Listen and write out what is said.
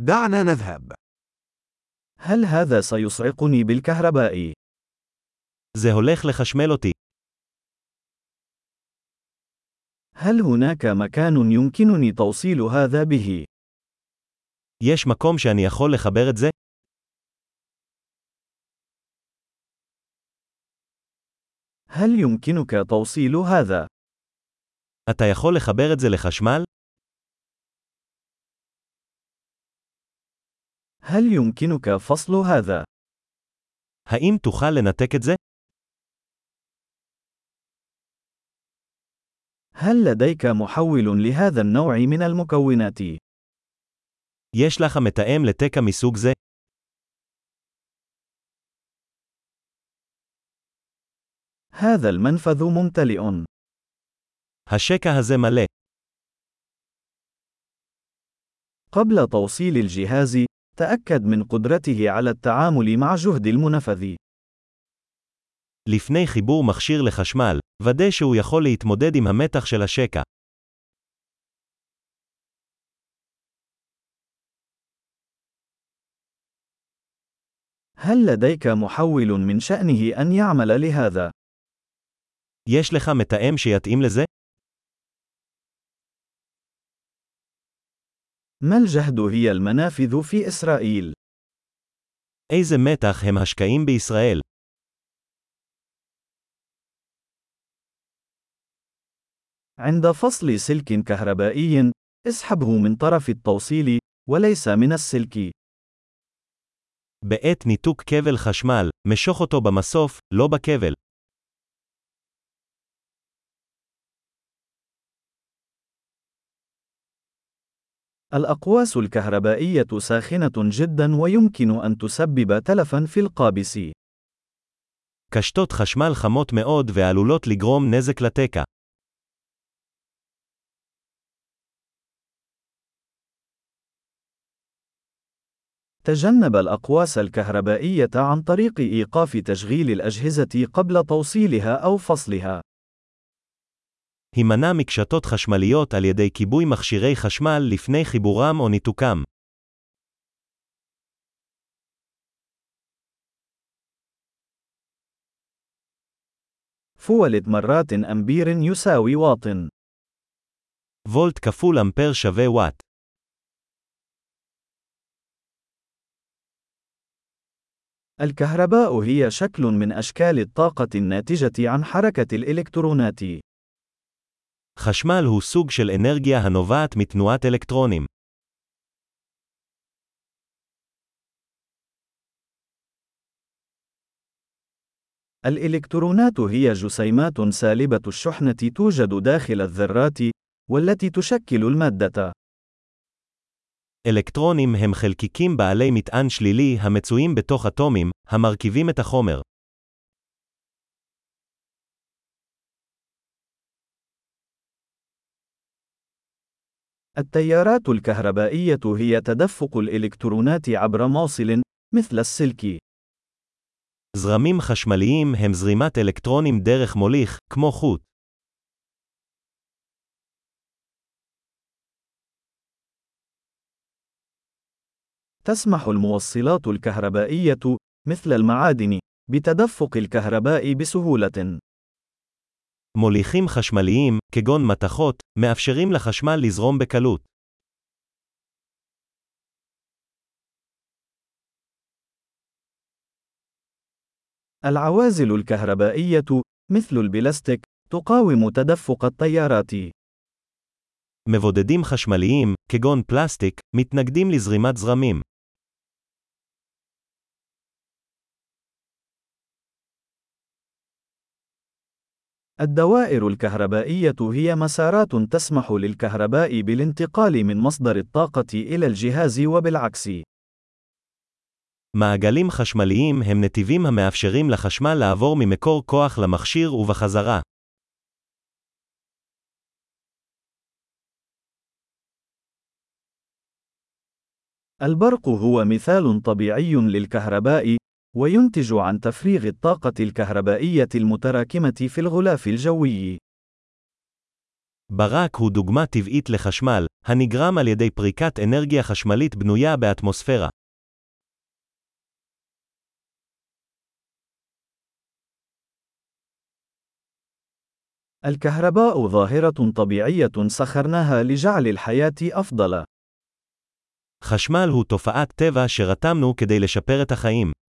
دعنا نذهب. هل هذا سيصعقني بالكهرباء؟ זה הולך לחשמל אותי. هل هناك مكان يمكنني توصيل هذا به؟ יש מקום שאני יכול לחבר את זה? هل يمكنك توصيل هذا؟ אתה יכול לחבר את זה לחשמל? هل يمكنك فصل هذا؟ האם תוכל לנתק את זה? هل لديك محول لهذا النوع من المكونات؟ יש לך מתאם לתקע מסוג זה? هذا المنفذ ممتلئ. השקע הזה מלא. قبل توصيل الجهاز، تأكد من قدرته على التعامل مع جهد المنفذ. לפני חיבור מכשיר לחשמל, ודא שהוא יכול להתמודד עם המתח של השקע. هل لديك محول من شأنه أن يعمل لهذا؟ יש לך מתאם שיתאים לזה? ما الجهد هي المنافذ في إسرائيل؟ איזה מתח הם השקעים בישראל? عند فصل سلك كهربائي، اسحبه من طرف التوصيل، وليس من السلك. בעת ניתוק כבל חשמל, משוך אותו במסוף, לא בכבל. الأقواس الكهربائية ساخنة جدا ويمكن أن تسبب تلفا في القابس. קשתות חשמל חמות מאוד ועלולות לגרום נזק לתקע. تجنب الأقواس الكهربائية عن طريق إيقاف تشغيل الأجهزة قبل توصيلها أو فصلها. הימנע מקשתות חשמליות על ידי כיבוי מכשירי חשמל לפני חיבורם או ניתוקם. فولت مرات أمبير يساوي واط. וולט כפול אמפר שווה וואט. الكهرباء هي شكل من أشكال الطاقة الناتجة عن حركة الإلكترونات. חשמל הוא סוג של אנרגיה הנובעת מתנועת אלקטרונים. الإلكترونات هي جسيمات سالبة الشحنة توجد داخل الذرات، والتي تشكل المادة. אלקטרונים הם חלקיקים בעלי מטען שלילי המצויים בתוך אטומים, המרכיבים את החומר. التيارات الكهربائية هي تدفق الإلكترونات عبر موصل، مثل السلك. זרמים חשמליים הם זרימת אלקטרונים דרך מוליך, כמו חוט. تسمح الموصلات الكهربائية، مثل المعادن، بتدفق الكهرباء بسهولة. מוליכים חשמליים, כגון מתכות, מאפשרים לחשמל לזרום בקלות. العوازل الكهربائية، مثل البلاستيك، تقاوم تدفق التيارات. מבודדים חשמליים, כגון פלסטיק, מתנגדים לזרימת זרמים. الدوائر الكهربائية هي مسارات تسمح للكهرباء بالانتقال من مصدر الطاقة إلى الجهاز وبالعكس. מעגלים חשמליים הם נתיבים המאפשרים לחשמל לעבור ממקור כוח למכשיר ובחזרה. البرق هو مثال طبيعي للكهرباء، وينتج عن تفريغ الطاقة الكهربائية المتراكمة في الغلاف الجوي. ברק הוא דוגמה טבעית לחשמל, הנגרם על ידי פריקת אנרגיה חשמלית בנויה באטמוספירה. الكهرباء ظاهرة طبيعية سخرناها لجعل الحياة أفضل. חשמל הוא תופעת טבע שרתמנו כדי לשפר את החיים.